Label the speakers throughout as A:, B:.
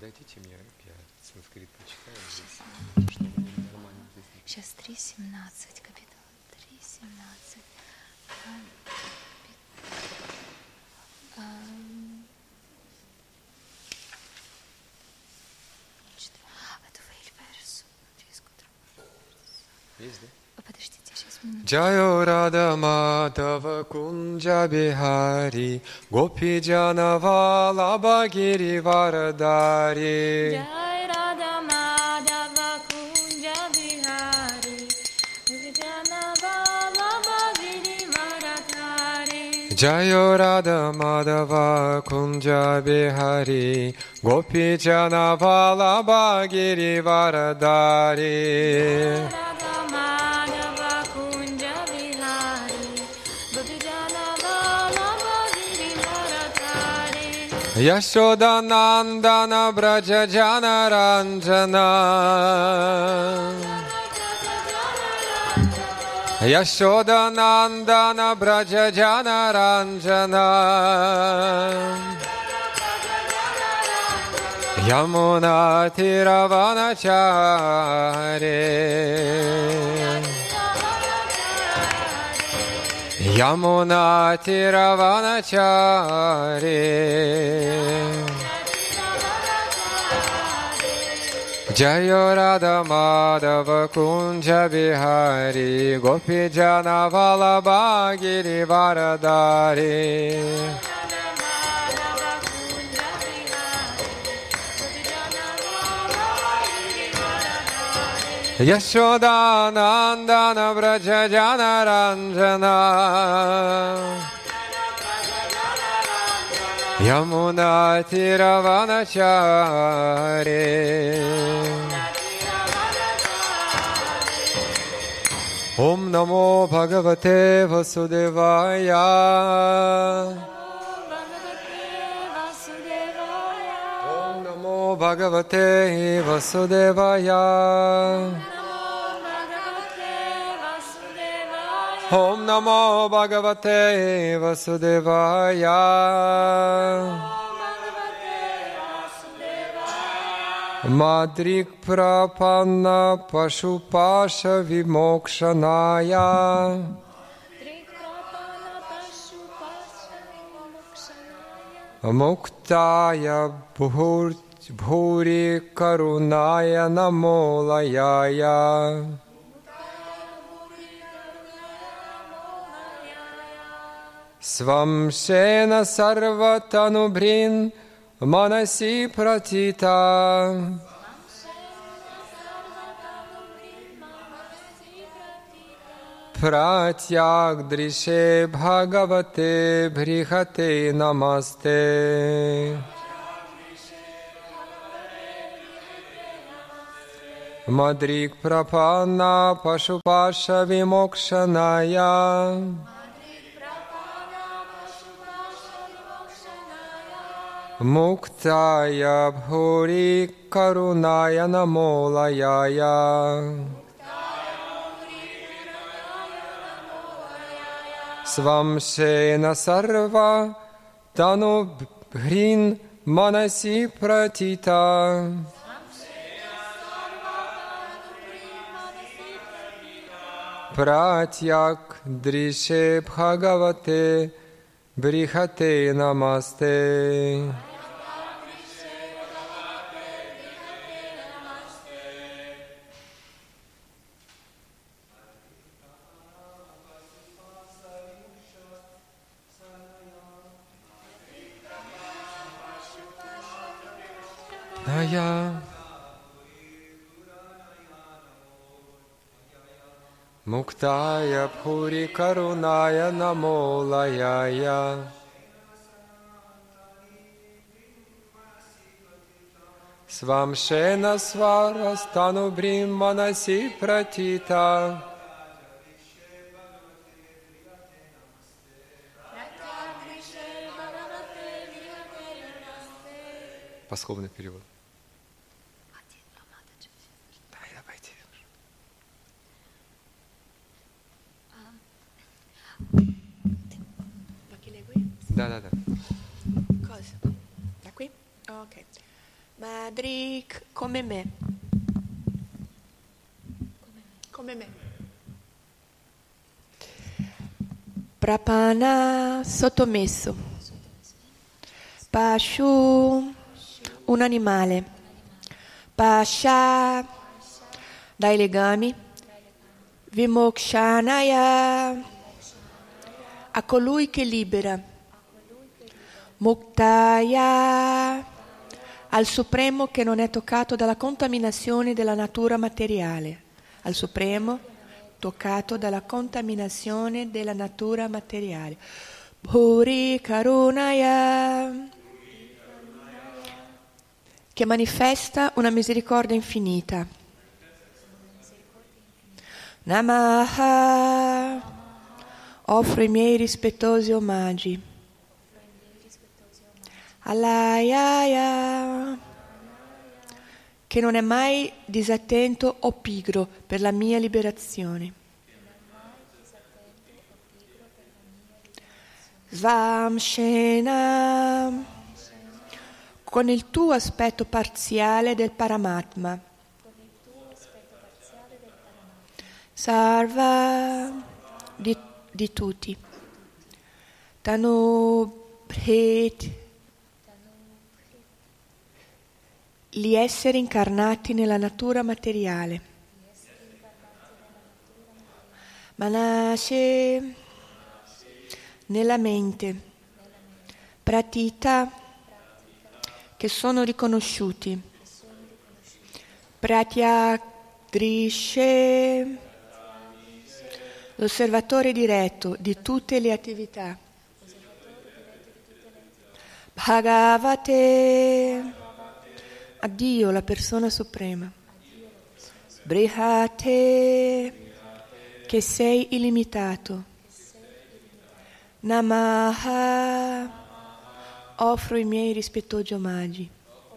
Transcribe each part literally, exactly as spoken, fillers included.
A: Дайте мне, я санскрит почитаю, чтобы они нормально здесь.
B: Сейчас три семнадцать, капитал. три семнадцать.
A: Есть, да?
B: Подождите, сейчас минуту.
A: Джайо Рада Мадава Кунджа Бихари Гопи Джана Валаба Гири Варадари
B: Джай Рада Мадава Кунджа Бихари Гопи Джана Валаба Гири Варадари
A: Джайо Рада Мадава Кунджа Бихари Гопи Джана Валаба Гири Варадари Yashoda Nandana Braja Jana Ranjana Yashoda Nandana Braja Jana Ranjana Yamuna Tiravanachare Yamuna Tiravanachare Jayo Radha Madhava Kunja Bihari Gopi Jana Vallabha Giri Varadari Yashoda Nandana Braja Jana Ranjana Yamuna Tiravanachare Om Namo Bhagavate Vasudevaya Om Namo Bhagavate Vasudevaya Om Namo Bhagavate Vasudevaya Madrik Prapanna Pashupasha Vimokshanaya Muktaya Bhuri Karunaya Namolayaya Svamshena Sarvatanubrin Manasi Pratita Pratyag Drishe Bhagavate Brihate Namaste Madrik Prapanna Pashupasha Vimokshanaya Muktaya Bhuri Karunaya Namolayaya Svamshena Sarva Tanu Bhrin Manasi Pratita Pratyak Drishe Bhagavate Brihate Namaste Naya Muktaya Bhuri Karunaya Namolayaya Svamshena Svarastanu Brim Manasi Pratita Пословный перевод.
C: Vuoi che leggo io?
A: Da, da, da.
C: Cosa? Da qui? Ok. Madri come me. Come me. Prapana sottomesso. Pashu un animale. Pasha dai legami. Vimokshanaya a colui che libera. Muktaya al Supremo che non è toccato dalla contaminazione della natura materiale. Al Supremo toccato dalla contaminazione della natura materiale. Puri Karunaya che manifesta una misericordia infinita. Namaha offro i miei rispettosi omaggi. Alayaya che non è mai disattento o pigro per la mia liberazione. Svamshena con il tuo aspetto parziale del Paramatma. Sarva di, di tutti. Tanubhrit gli esseri incarnati nella natura materiale. Manashe nella mente. Pratita che sono riconosciuti. Pratyagdrishe l'osservatore diretto di tutte le attività. Bhagavate a Dio, la persona suprema. Brihate che sei illimitato. Namaha offro i miei rispettosi omaggi.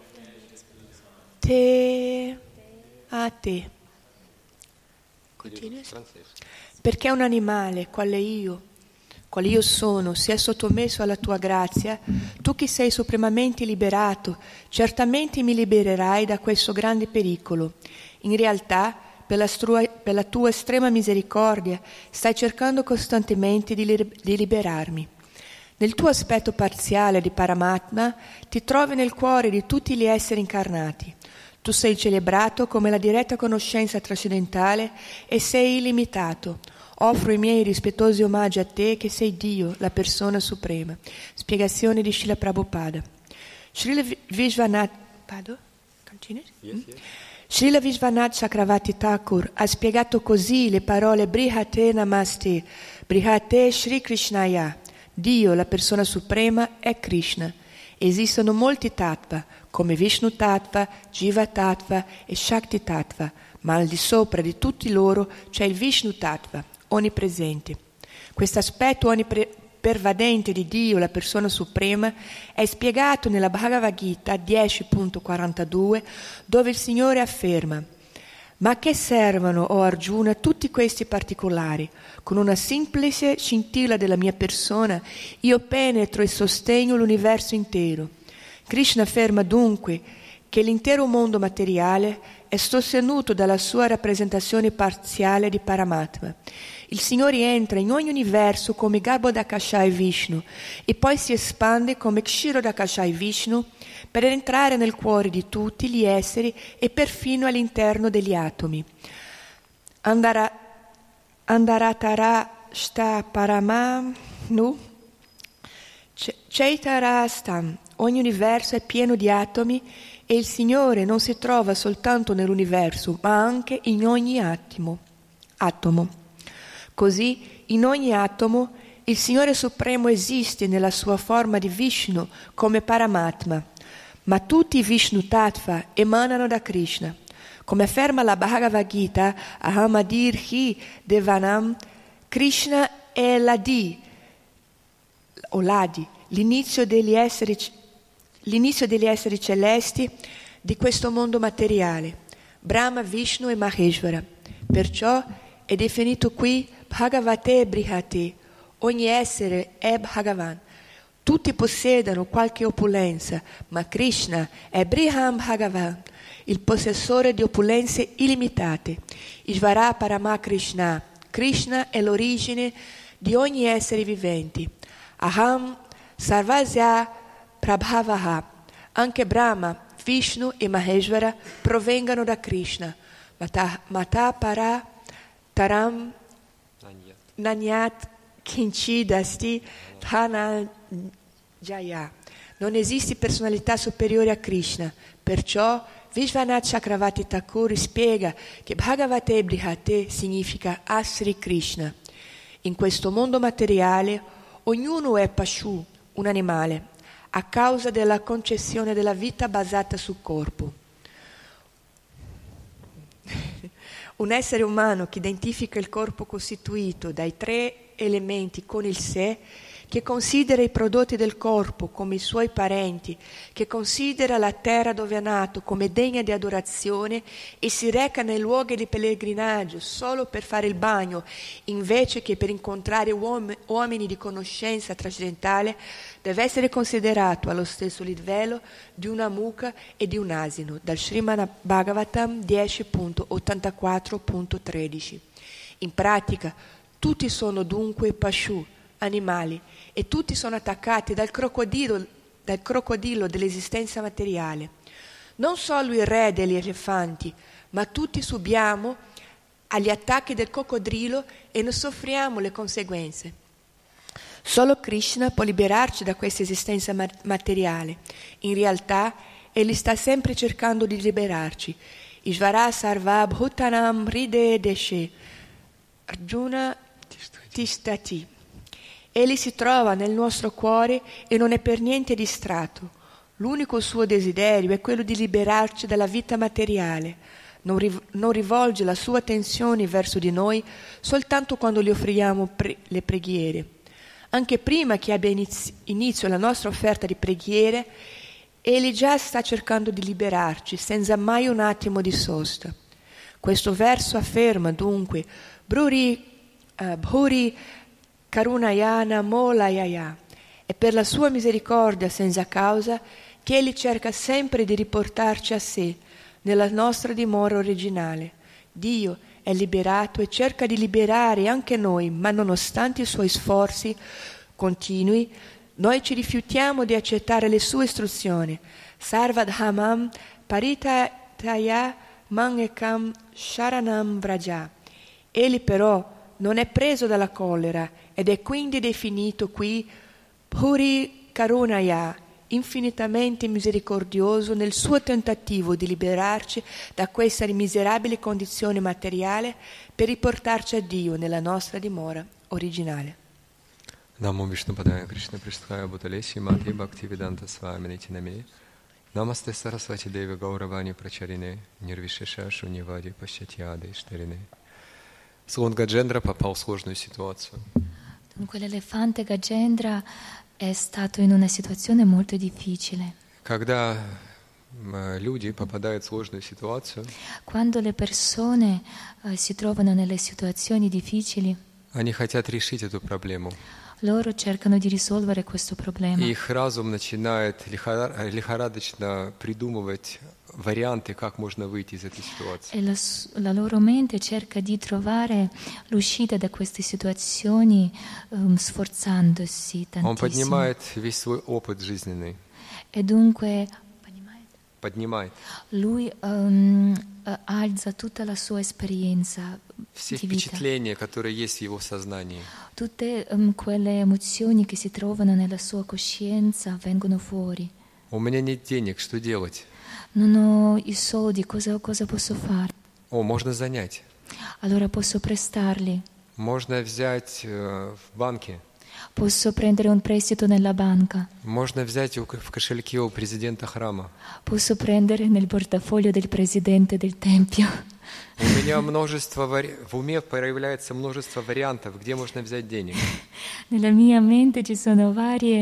C: Te a te. Continua. Perché un animale, quale io, quale io sono, sia sottomesso alla tua grazia, tu che sei supremamente liberato, certamente mi libererai da questo grande pericolo. In realtà, per la, strua, per la tua estrema misericordia, stai cercando costantemente di, li, di liberarmi. Nel tuo aspetto parziale di Paramatma, ti trovi nel cuore di tutti gli esseri incarnati. Tu sei celebrato come la diretta conoscenza trascendentale e sei illimitato. Offro i miei rispettosi omaggi a te che sei Dio, la persona suprema. Spiegazione di Srila Prabhupada. Srila Vishwanath, yes, yes. Srila Vishwanath Chakravarti Thakur ha spiegato così le parole Brihate Namaste, Brihate Shri Krishnaya. Dio, la persona suprema, è Krishna. Esistono molti tattva, come Vishnu tattva, Jiva tattva e Shakti tattva, ma al di sopra di tutti loro c'è il Vishnu tattva, onnipresente. Questo aspetto onnipervadente di Dio, la persona suprema, è spiegato nella Bhagavad Gita dieci punto quarantadue, dove il Signore afferma: ma a che servono, o Arjuna, tutti questi particolari? Con una semplice scintilla della mia persona io penetro e sostengo l'universo intero. Krishna afferma dunque che l'intero mondo materiale è sostenuto dalla sua rappresentazione parziale di Paramatma. Il Signore entra in ogni universo come Garbhodakashai Vishnu e poi si espande come Kshirodakashai Vishnu per entrare nel cuore di tutti gli esseri e perfino all'interno degli atomi. Andara, Andaratara sta paramanu Chaitarastam. Ogni universo è pieno di atomi e il Signore non si trova soltanto nell'universo, ma anche in ogni attimo, atomo. Così, in ogni atomo, il Signore Supremo esiste nella sua forma di Vishnu come Paramatma, ma tutti i Vishnu Tattva emanano da Krishna. Come afferma la Bhagavad Gita, Ahamadir Hi Devanam, Krishna è l'Adi, o l'Adi, l'inizio degli esseri, l'inizio degli esseri celesti di questo mondo materiale, Brahma, Vishnu e Maheshvara. Perciò è definito qui Bhagavate Brihate, ogni essere è Bhagavan. Tutti possiedono qualche opulenza, ma Krishna è Briham Bhagavan, il possessore di opulenze illimitate. Ishvara Parama Krishna. Krishna è l'origine di ogni essere vivente. Aham Sarvasya Prabhavaha. Anche Brahma, Vishnu e Maheshvara provengono da Krishna. Mata, mata para taram nanyat kinchidasti dhananjaya. Non esiste personalità superiore a Krishna. Perciò Vishwanath Chakravarti Thakur spiega che Bhagavate Brihate significa Asri Krishna. In questo mondo materiale ognuno è Pashu, un animale, a causa della concezione della vita basata sul corpo. Un essere umano che identifica il corpo costituito dai tre elementi con il sé, che considera i prodotti del corpo come i suoi parenti, che considera la terra dove è nato come degna di adorazione e si reca nei luoghi di pellegrinaggio solo per fare il bagno, invece che per incontrare uom- uomini di conoscenza trascendentale, deve essere considerato allo stesso livello di una mucca e di un asino, dal Srimad Bhagavatam dieci punto ottantaquattro punto tredici. In pratica, tutti sono dunque Pashu, animali, e tutti sono attaccati dal crocodilo, dal crocodilo dell'esistenza materiale. Non solo il re degli elefanti, ma tutti subiamo agli attacchi del coccodrillo e ne soffriamo le conseguenze. Solo Krishna può liberarci da questa esistenza materiale. In realtà, Egli sta sempre cercando di liberarci. Ishvara Sarva Bhutanam Ride Deshe Arjuna Tishtati. Egli si trova nel nostro cuore e non è per niente distratto. L'unico suo desiderio è quello di liberarci dalla vita materiale. Non, riv- non rivolge la sua attenzione verso di noi soltanto quando gli offriamo pre- le preghiere. Anche prima che abbia iniz- inizio la nostra offerta di preghiere, Egli già sta cercando di liberarci senza mai un attimo di sosta. Questo verso afferma dunque Bruri uh, Bhuri Karunayana Molayaya. È per la sua misericordia senza causa che Egli cerca sempre di riportarci a sé, nella nostra dimora originale. Dio è liberato e cerca di liberare anche noi, ma nonostante i suoi sforzi continui, noi ci rifiutiamo di accettare le sue istruzioni. Sarvadhamam paritaya mangekam sharanam vraja. Egli però non è preso dalla collera ed è quindi definito qui Puri Karunaya, infinitamente misericordioso nel suo tentativo di liberarci da questa miserabile condizione materiale per riportarci a Dio nella nostra dimora originale.
A: Namo Vishnupadaya Krishna Pristhaya Bhutalesi Mati Bhaktivedanta Swamini Tiname Namaste Sarasvati Devi Gauravani Pracharine Nirvishesha Shunivadi Paschatyade Ishtarine. Слон Гаджендра попал в сложную ситуацию.
B: Dunque l'elefante Gajendra è stato in una situazione molto difficile.
A: Когда люди попадают в сложную ситуацию,
B: Quando le persone eh, si trovano nelle situazioni difficili,
A: они хотят решить эту проблему.
B: loro cercano di risolvere questo problema.
A: И их разум начинает лихорадочно придумывать варианты, как можно выйти из этой ситуации.
B: E la, la loro mente cerca di trovare l'uscita da queste situazioni um, sforzandosi
A: Он
B: tantissimo.
A: поднимает весь свой опыт жизненный.
B: E dunque
A: Поднимает.
B: lui um, alza tutta la sua esperienza
A: Все
B: di vita.
A: впечатления, которые есть в его сознании.
B: Tutte um, quelle emozioni che si trovano nella sua coscienza vengono fuori.
A: У меня нет денег, что делать?
B: Non ho i soldi, cosa, cosa posso fare?
A: О, можно занять.
B: Allora posso prestarli,
A: Можно взять э, в банке.
B: posso prendere un prestito nella banca,
A: Можно взять у- в кошельке у президента храма.
B: posso prendere nel portafoglio del presidente del tempio.
A: У меня множество вари... в уме появляется множество вариантов, где можно взять денег.
B: Nella mia mente ci sono varie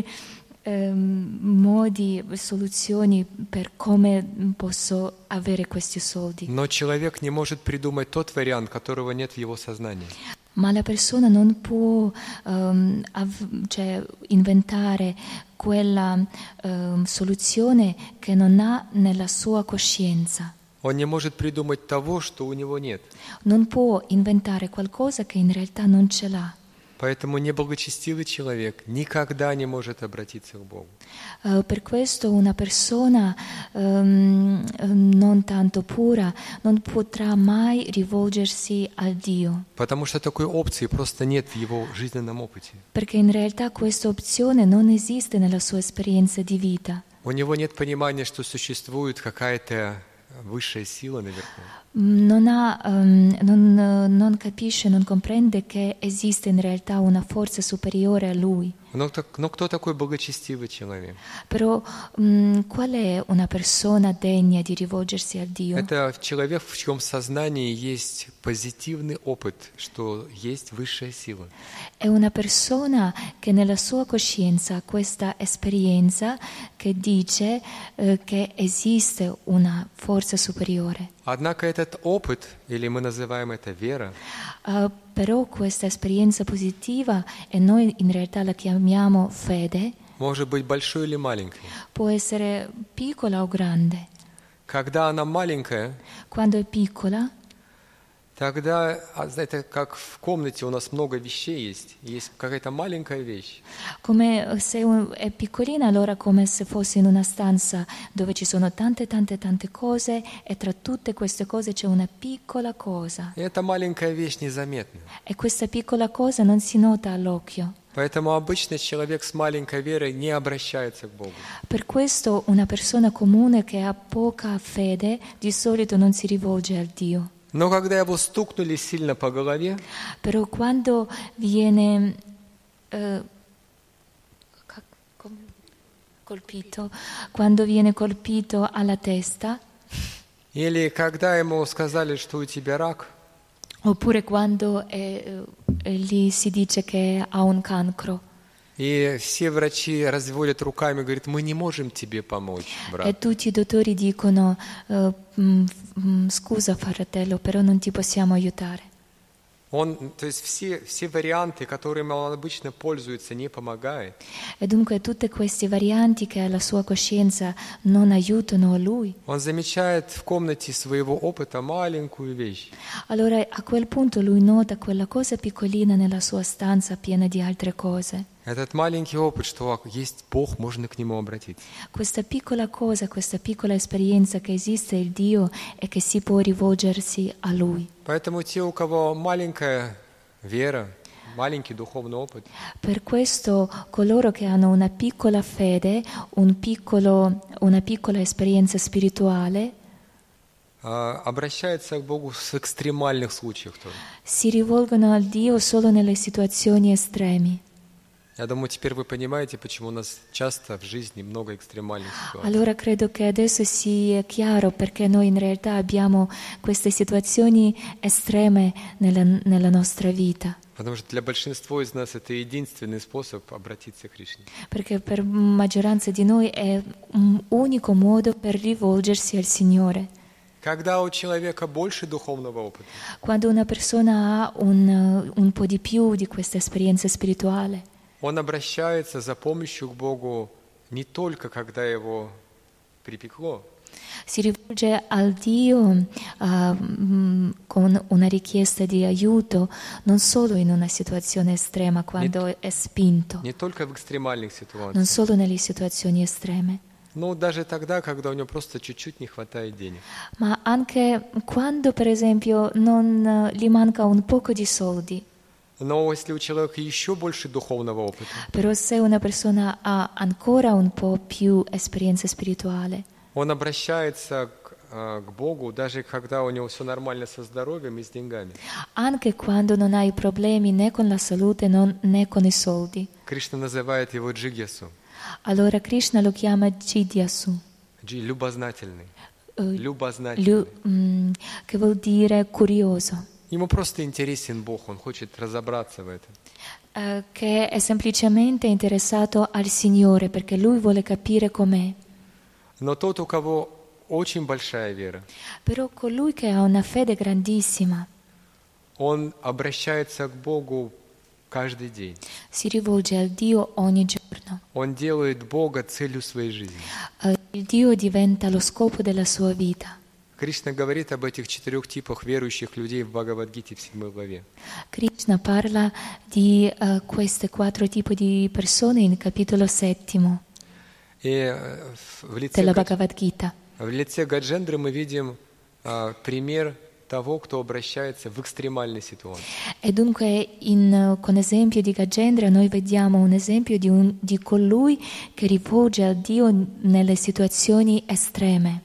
B: ehm, modi, soluzioni per come posso avere questi soldi.
A: Но человек не может придумать тот вариант, которого нет в его сознании.
B: Ma la persona non può um, av- cioè, inventare quella um, soluzione che non ha nella sua coscienza.
A: Он не может придумать того, что у него нет.
B: Non può inventare qualcosa che in realtà non ce l'ha.
A: Поэтому неблагочестивый человек никогда не может обратиться к Богу.
B: Uh, per questo una persona um, non tanto pura non potrà mai rivolgersi al Dio.
A: Потому что такой опции просто нет в его жизненном опыте.
B: Perché in realtà questa opzione non esiste nella sua esperienza di vita.
A: У него нет понимания, что существует какая-то высшая сила наверху.
B: Non, ha, um, non, non capisce, non comprende che esiste in realtà una forza superiore a lui.
A: Но, но кто такой благочестивый человек?
B: Però um, qual è una persona degna di rivolgersi a Dio?
A: Это человек, в чьем сознании есть позитивный опыт, что есть высшая сила.
B: È una persona che nella sua coscienza ha questa esperienza che dice eh, che esiste una forza superiore.
A: Однако этот опыт, или мы называем это вера,
B: Uh, però questa esperienza positiva, e noi in realtà la chiamiamo fede,
A: может быть большой или маленькой.
B: può essere piccola o grande.
A: Когда она маленькая,
B: Quando è piccola,
A: тогда, знаете, как в комнате у нас много вещей есть, есть какая-то маленькая вещь.
B: come se un- è piccolina, allora come se fosse in una stanza dove ci sono tante tante tante cose e tra tutte queste cose c'è una piccola cosa.
A: И эта маленькая вещь незаметна.
B: E questa piccola cosa non si nota all'occhio.
A: Поэтому обычно человек с маленькой верой не обращается к Богу.
B: Per questo una persona comune che ha poca fede di solito non si rivolge al Dio.
A: Но когда его стукнули сильно по голове,
B: Però quando viene eh, ca- com- colpito, quando viene colpito alla testa,
A: или когда ему сказали, что у тебя рак,
B: oppure quando eh, eh, gli si dice che ha un cancro
A: и все врачи разводят руками, говорят, мы не можем тебе помочь,
B: e
A: брат.
B: tutti i dottori dicono eh, mm, mm, scusa fratello, però non ti possiamo aiutare.
A: Он, то есть все, все варианты, которыми он обычно пользуется, не помогают.
B: E dunque tutte queste varianti che alla sua coscienza non aiutano a lui.
A: Он замечает в комнате своего опыта маленькую вещь.
B: Allora a quel punto lui nota quella cosa piccolina nella sua stanza piena di altre cose.
A: Этот маленький опыт, что есть Бог, можно к Нему обратиться.
B: Questa piccola cosa, questa piccola esperienza che esiste il Dio e che si può rivolgersi a Lui.
A: Поэтому те, у кого маленькая вера, маленький духовный опыт,
B: Per questo coloro che hanno una piccola fede, un piccolo, una piccola esperienza spirituale,
A: а, обращаются к Богу в экстремальных случаях тоже.
B: si rivolgono al Dio solo nelle situazioni estremi.
A: Я думаю, теперь вы понимаете, почему у нас часто в жизни много экстремальных ситуаций.
B: Allora credo che adesso sia chiaro perché noi in realtà abbiamo queste situazioni estreme nella, nella nostra vita.
A: Потому что для большинства из нас это единственный способ обратиться к Кришне.
B: Perché per maggioranza di noi è un unico modo per rivolgersi al Signore.
A: Когда у человека больше духовного опыта,
B: Quando una persona ha un, un po' di più di questa esperienza spirituale,
A: он обращается за помощью к Богу не только когда его припекло,
B: si rivolge al Dio uh, mm, con una richiesta di aiuto non solo in una situazione estrema quando è spinto,
A: не только в экстремальных
B: non
A: ситуациях,
B: solo nelle situazioni estreme,
A: но даже тогда, когда у него просто чуть-чуть не хватает денег.
B: ma anche quando per esempio non uh, gli manca un poco di soldi.
A: Но если у человека еще больше духовного опыта,
B: Però se una persona ha ancora un po' più esperienza spirituale,
A: он обращается к, а, к Богу, даже когда у него все нормально со здоровьем и с деньгами.
B: anche quando non hai problemi né con la salute non- né con i soldi.
A: Кришна называет его джигьясу,
B: Allora Krishna lo chiama Jidyasu,
A: джи, любознательный,
B: eh,
A: любознательный.
B: lu- mm, che vuol dire curioso,
A: Ему просто интересен Бог, он хочет разобраться в этом.
B: eh, che è semplicemente interessato al Signore perché lui vuole capire com'è.
A: Но тот, у кого очень большая вера,
B: Però colui che ha una fede grandissima,
A: он обращается к Богу каждый день.
B: Si rivolge al Dio ogni giorno.
A: Он делает Бога целью своей жизни.
B: Eh, Il Dio diventa lo scopo della sua vita.
A: Кришна говорит об этих четырех типах верующих людей в Бхагавад-гите в седьмой главе.
B: Krishna parla di eh, queste quattro tipi di persone in capitolo settimo
A: И э, в лице,
B: della
A: Гадж-
B: Bhagavad Gita.
A: в лице Гаджендры мы видим а, пример того, кто обращается в экстремальной ситуации.
B: E dunque in, con esempio di Gajendra noi vediamo un esempio di, un, di colui che rivolge a Dio nelle situazioni estreme.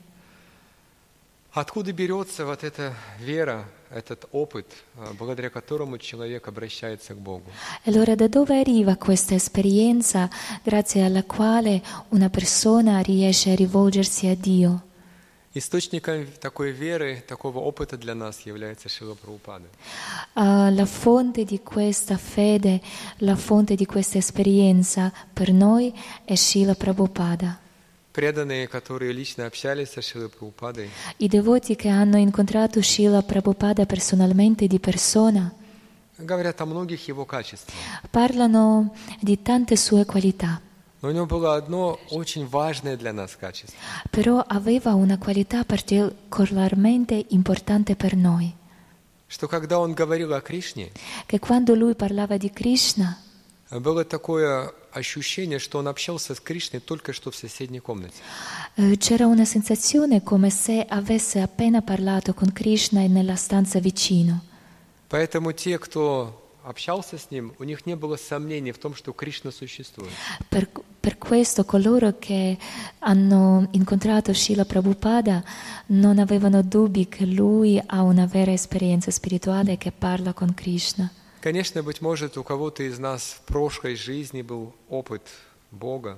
A: Откуда берется вот эта вера, этот опыт, а, благодаря которому человек обращается к Богу?
B: E allora da dove arriva questa esperienza grazie alla quale una persona riesce a rivolgersi a Dio?
A: Источником такой веры, такого опыта для нас является Шрила Прабхупада.
B: Uh, la fonte di questa fede, la fonte di questa esperienza per noi è Srila Prabhupada.
A: Преданные, которые лично общались со Шрилой Прабхупадой,
B: I devoti che hanno incontrato Srila Prabhupada personalmente di persona
A: говорят о многих его качествах.
B: parlano di tante sue qualità,
A: Но у него было одно очень важное для нас качество.
B: però aveva una qualità particolarmente importante per noi,
A: Что когда он говорил о Кришне,
B: che quando lui parlava di Krishna
A: было такое ощущение, что он общался с Кришной только что в соседней комнате.
B: eh, c'era una sensazione come se avesse appena parlato con Krishna nella stanza vicino.
A: Поэтому те, кто общался с ним, у них не было сомнений в том, что Кришна существует.
B: Per, per questo coloro che hanno incontrato Srila Prabhupada non avevano dubbi che lui ha una vera esperienza spirituale e che parla con Krishna.
A: Конечно, быть может, у кого-то из нас в прошлой жизни был опыт Бога.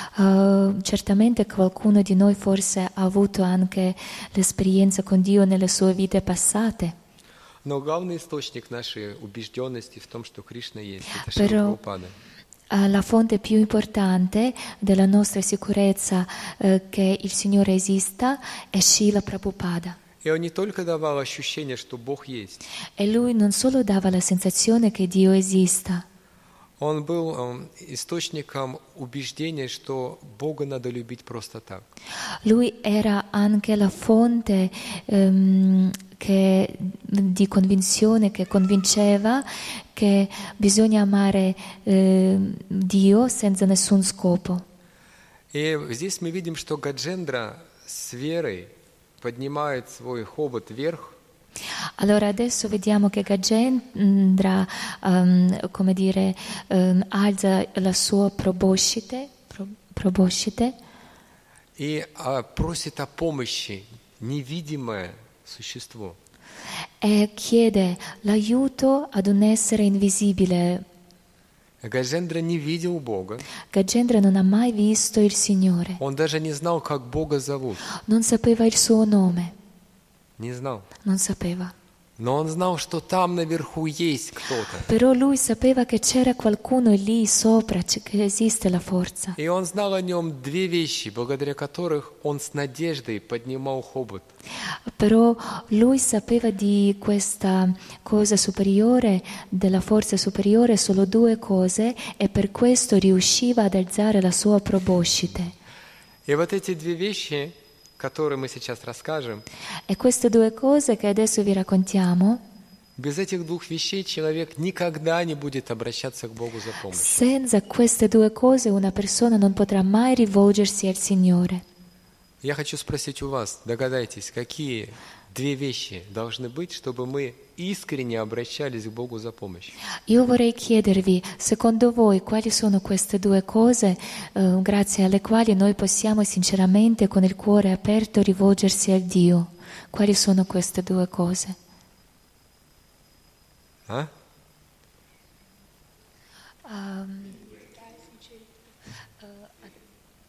B: Uh, certamente qualcuno di noi forse ha avuto anche l'esperienza con Dio nelle sue vite passate,
A: Но главный источник нашей убежденности в том, что Кришна есть, это
B: Però-
A: Шрила Прабхупада.
B: Uh, la fonte più importante della nostra sicurezza uh, che il Signore esista è Srila Prabhupada.
A: И он не только давал ощущение, что Бог есть,
B: E lui non solo dava la sensazione che Dio esista,
A: он был эм, источником убеждения, что Бога надо любить просто так.
B: lui era anche la fonte ehm, che, di convinzione che convinceva che bisogna amare ehm, Dio senza nessun scopo.
A: И здесь мы видим, что Гаджендра с верой поднимает свой хобот вверх,
B: Allora adesso vediamo che Gajendra, ehm, come dire, ehm, alza la sua proboscite, pro- proboscite
A: и а, просит о помощи невидимое существо.
B: e chiede l'aiuto ad un essere invisibile.
A: Гаджендра не видел Бога,
B: Gajendra non ha mai visto il Signore,
A: он даже не знал, как Бога зовут,
B: non sapeva il suo nome,
A: не знал.
B: non sapeva.
A: Но он знал, что там наверху есть кто-то.
B: Però lui sapeva che c'era qualcuno lì sopra, c- che esiste la forza.
A: И он знал о нем две вещи, благодаря которых он с надеждой поднимал хобот.
B: Però lui sapeva di questa cosa superiore, della forza superiore, solo due cose e per questo riusciva ad alzare la sua proboscite.
A: И вот эти две вещи, которые мы сейчас расскажем,
B: E queste due cose che adesso vi raccontiamo,
A: без этих двух вещей человек никогда не будет обращаться к Богу за помощью.
B: senza queste due cose una persona non potrà mai rivolgersi al Signore.
A: Я хочу спросить у вас, догадайтесь, какие две вещи должны быть, чтобы мы искренне обращались к Богу за помощью?
B: Io vorrei chiedervi, secondo voi, quali sono queste due cose eh, grazie alle quali noi possiamo sinceramente, con il cuore aperto, rivolgersi a Dio? Quali sono queste due cose?
A: А?
B: Um,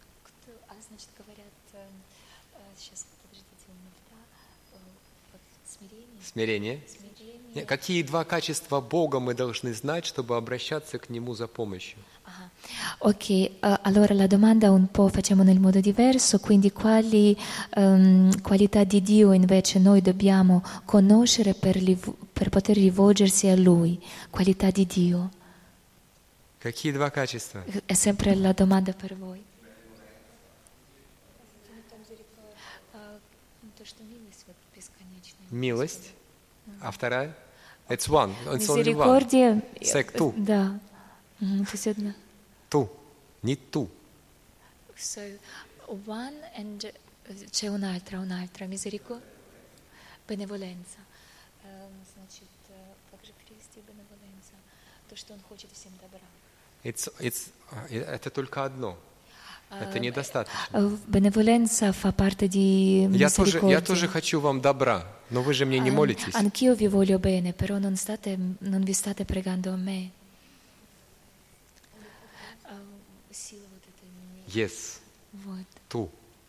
B: значит, говорят, сейчас, подождите, у меня сейчас
A: Смирение. Нет, какие два качества Бога мы должны знать, чтобы обращаться к Нему за помощью?
B: Ok, uh, allora la domanda un po' facciamo nel modo diverso, quindi quali um, qualità di Dio invece noi dobbiamo conoscere per, li, per poter rivolgersi a Lui? Qualità di Dio.
A: Какие два качества?
B: È sempre la domanda per voi.
A: Милость. А вторая? It's one. It's only one.
B: Misericordia.
A: Sec tu.
B: Да. Mm, tu sei одна.
A: Tu. Не ту.
B: So, one and c'è un'altra, un'altra. Misericordia. Benevolenza. Ehm, Значит, как же перевести benevolenza? То, что он хочет всем добра.
A: It's, it's, это только одно. Это недостаточно.
B: Benevolenza fa parte di
A: Я тоже,
B: misericordia.
A: я тоже хочу вам добра, но вы же мне не молитесь.
B: Anch'io vi voglio bene, però non, state, non vi state pregando a me.
A: Yes.
B: Вот.
A: Ту.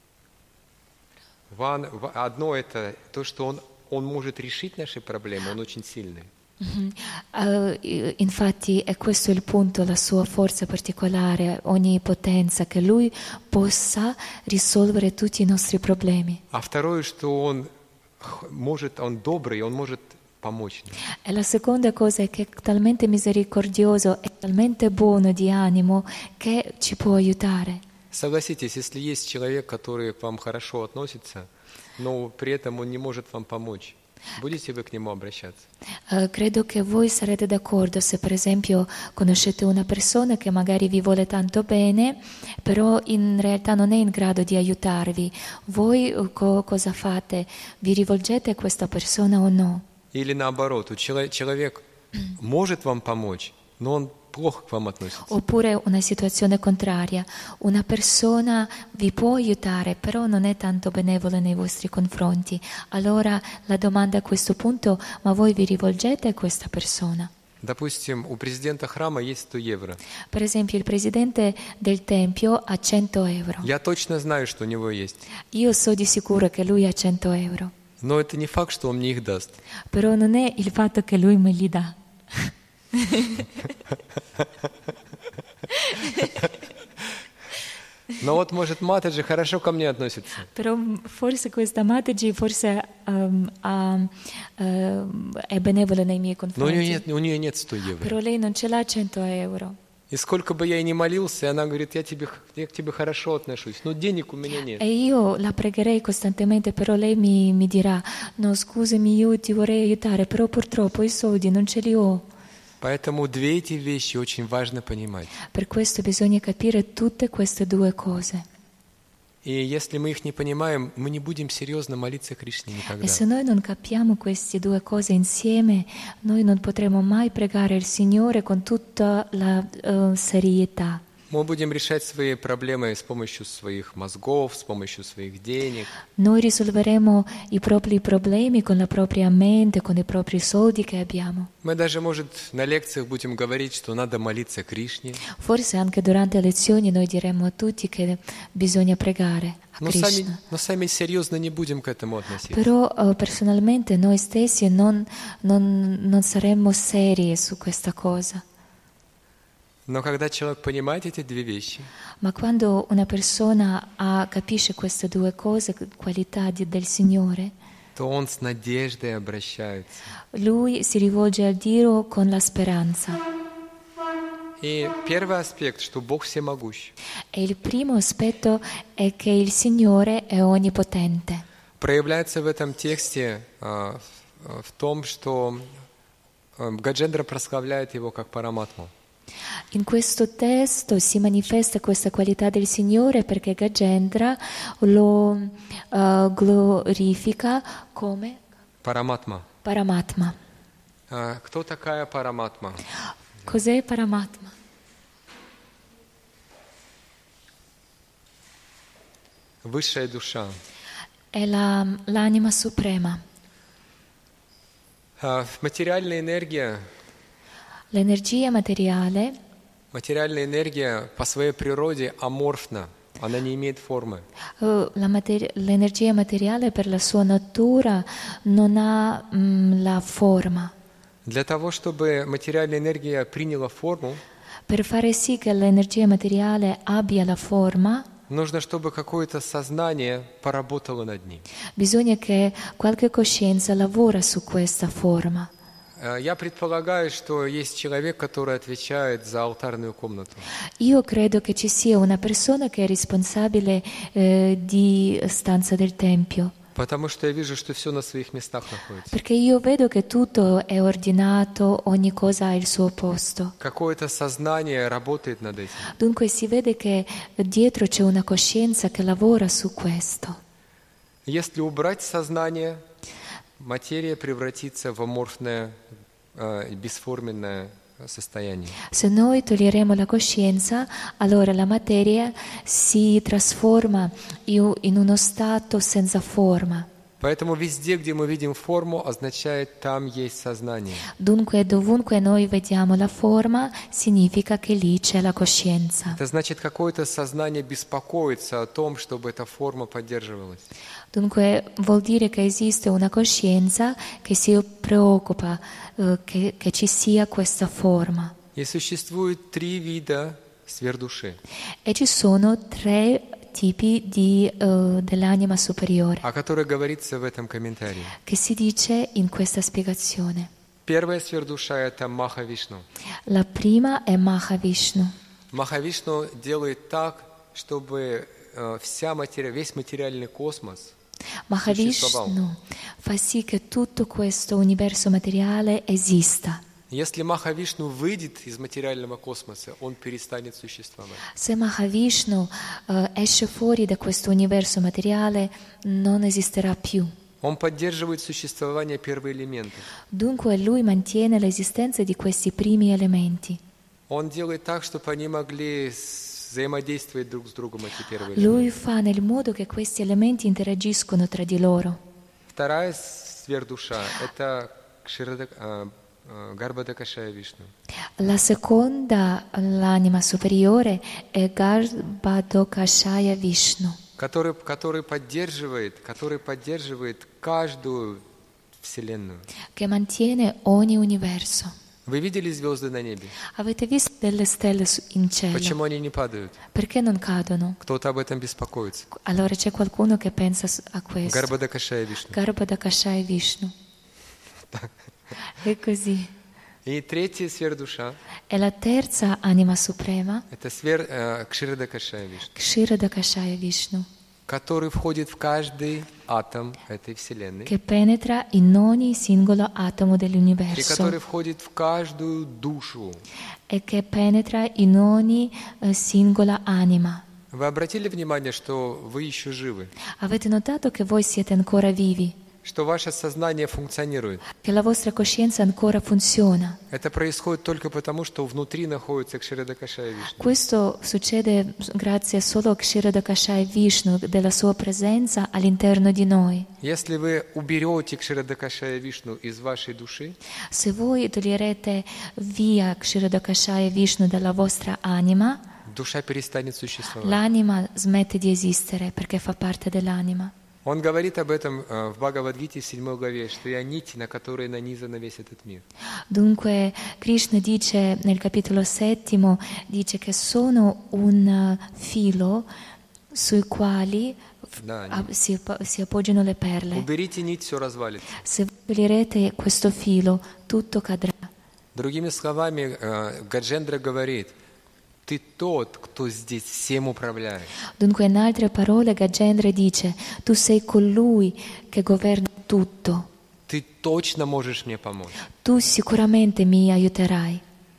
A: One, одно это то, что он, он может решить наши проблемы, он очень сильный.
B: Mm-hmm. Uh, infatti è questo il punto, la sua forza particolare, ogni potenza, che lui possa risolvere tutti i nostri problemi.
A: А второе, что он может, он добрый, он может помочь нам.
B: E la seconda cosa è che è talmente misericordioso, è talmente buono di animo che ci può aiutare.
A: Согласитесь, если есть человек, который к вам хорошо относится, но при этом он не может вам помочь, будете вы к нему обращаться?
B: Uh, credo che voi sarete d'accordo se per esempio conoscete una persona che magari vi vuole tanto bene, però in realtà non è in grado di aiutarvi. Voi co- cosa fate? Vi rivolgete a questa persona o no?
A: Или наоборот, у чело- человек может вам помочь, но он плохо к вам относится.
B: Oppure una situazione contraria, una persona vi può aiutare, però non è tanto benevola nei vostri confronti. Allora la domanda a questo punto, ma voi vi rivolgete a questa persona?
A: Допустим, у президента храма есть сто евро.
B: Per esempio il presidente del tempio ha cento euro.
A: Я точно знаю, что у него есть.
B: Io so di sicuro che lui ha cento euro,
A: Но это не факт, что он мне их даст.
B: però non è il fatto che lui me li dà.
A: Но вот, может, Матаджи хорошо ко мне относится.
B: Però forse questa Mataji forse um, ha, uh, è benevola nei miei
A: Но у нее
B: confronti,
A: нет, у нее нет сто евро.
B: però lei non ce l'ha cento euro.
A: И сколько бы я и не молился, она говорит, я, тебе, я к тебе хорошо отношусь, но денег у меня нет.
B: E io la pregherei costantemente, però lei mi, mi dirà, no scusami, io ti vorrei aiutare, però purtroppo i soldi non ce li ho.
A: Поэтому две эти вещи очень важно понимать.
B: Per questo bisogna capire tutte queste due cose.
A: И если мы их не понимаем, мы не будем серьезно молиться Кришне никогда.
B: E se noi non capiamo queste due cose insieme, noi non potremo mai pregare il Signore con tutta la uh, serietà.
A: Мы будем решать свои проблемы с помощью своих мозгов, с помощью своих денег.
B: Noi risolveremo i propri problemi con la propria mente, con i propri soldi che abbiamo.
A: Мы даже, может, на лекциях будем говорить, что надо молиться Кришне.
B: Forse anche durante le lezioni noi diremo a tutti che bisogna pregare a
A: Но сами,
B: Krishna.
A: но сами серьезно не будем к этому относиться.
B: Però uh, personalmente noi stessi non, non, non saremmo seri su questa cosa.
A: Но когда человек понимает эти две вещи,
B: Ma quando una persona ha, capisce queste due cose, qualità di, del Signore,
A: то он с надеждой обращается.
B: lui si rivolge a Dio con la speranza.
A: И первый аспект, что Бог всемогущ.
B: E il primo aspetto è che il Signore è onnipotente.
A: Проявляется в этом тексте а, в, в том, что а, Гаджендра прославляет его как Параматму.
B: In questo testo si manifesta questa qualità del Signore perché Gajendra lo uh, glorifica come
A: Параматма.
B: Paramatma.
A: А, кто такая Параматма?
B: Cos'è Paramatma?
A: Высшая душа.
B: È la, l'anima suprema.
A: А, материальная энергия,
B: L'energia materiale
A: материальная энергия по своей природе аморфна. она не имеет формы.
B: Uh, la materi- l'energia materiale per la sua natura non ha mm, la forma.
A: Для того, чтобы материальная энергия приняла форму,
B: Per fare sì che l'energia materiale abbia la forma,
A: нужно, чтобы какое-то сознание поработало над ней.
B: bisogna che qualche coscienza lavora su questa forma.
A: Э, Я предполагаю, что есть человек, который отвечает за алтарную комнату.
B: Io credo che ci sia una persona che è responsabile eh, di stanza del Tempio,
A: Потому что я вижу, что все на своих местах находится.
B: perché io vedo che tutto è ordinato, ogni cosa ha il suo posto.
A: Какое-то сознание работает над этим.
B: Dunque si vede che dietro c'è una coscienza che lavora su questo.
A: Если убрать сознание, материя превратится в аморфное, э, бесформенное состояние.
B: Se noi toglieremo la coscienza, allora la materia si trasforma in in uno stato senza forma.
A: Поэтому везде, где мы видим форму, означает, там есть сознание.
B: Dunque dovunque noi vediamo la forma, significa che lì c'è la coscienza.
A: Это значит, какое-то сознание беспокоится о том, чтобы эта форма поддерживалась.
B: Dunque vuol dire che esiste una coscienza che si preoccupa eh, che, che ci sia questa forma.
A: И существует три вида сверхдуши,
B: E ci sono tre tipi di, eh, dell'anima superiore
A: о которых говорится в этом комментарии.
B: che si dice in questa spiegazione.
A: Первая сверхдуша – это Маха-Вишну.
B: La prima è Mahavishnu.
A: Маха-Вишну делает так, чтобы э, вся материя, весь материальный космос существовал.
B: Mahavishnu fa sì che tutto questo universo materiale esista.
A: Если Маха-Вишну выйдет из материального космоса, он перестанет существовать.
B: Se Mahavishnu eh, esce fuori da questo universo materiale, non esisterà più.
A: Он поддерживает существование первоэлементов.
B: Dunque lui mantiene l'esistenza di questi primi elementi.
A: Он делает так, чтобы они могли взаимодействовать друг с другом, эти первые
B: Lui
A: элементы.
B: fa nel modo che questi elementi interagiscono tra di loro.
A: Вторая сверхдуша – это Кширада- а, а, Гарбхадакашая Вишну.
B: La seconda, l'anima superiore, è Garbhodakashaya Vishnu,
A: Который, который поддерживает, который поддерживает каждую вселенную.
B: che mantiene ogni universo.
A: Вы видели звезды на небе?
B: Avete visto delle stelle su- in cielo?
A: Почему они не падают?
B: Perché non cadono?
A: Кто-то об этом беспокоится.
B: Allora c'è qualcuno che pensa s- a questo.
A: Гарбхадакашая Вишну.
B: Garbhodakashaya Vishnu. È così.
A: И третья сверхдуша
B: E la terza anima suprema,
A: – это свер, э, Кширадакашая Вишну,
B: Kshirodakashaya Vishnu,
A: который входит в каждый атом этой вселенной,
B: che penetra in ogni singolo atomo
A: и
B: dell'universo
A: который входит в каждую душу.
B: e che penetra in ogni eh, singola anima.
A: Вы обратили внимание, что вы еще живы,
B: Avete notato che voi siete ancora vivi,
A: что ваше сознание функционирует?
B: che la vostra coscienza ancora funziona.
A: Это происходит только потому, что внутри находится Кширадакашая Вишну.
B: Questo succede grazie solo a Kshirodakashaya Vishnu, della sua presenza all'interno di noi.
A: Если вы уберете Кширадакашая Вишну из вашей души,
B: Se voi toglierete via Kshirodakashaya Vishnu dalla vostra anima,
A: душа перестанет существовать.
B: l'anima smette di esistere perché fa parte dell'anima.
A: Он говорит об этом э, в Бхагавад-гите в седьмой главе, что я нить, на которой нанизан весь этот мир.
B: Dunque Krishna dice nel capitolo settimo, dice che sono un eh, filo sui quali
A: Да,
B: ah, si, si appoggiano le perle.
A: Уберите нить, все развалится.
B: Se toglierete questo filo, tutto cadrà.
A: Другими словами, э, Гаджендра говорит, ты тот, кто здесь всем управляет.
B: Dunque in altre parole Gajendra dice, tu sei colui che governa tutto,
A: Ты точно можешь мне помочь.
B: tu sicuramente mi aiuterai.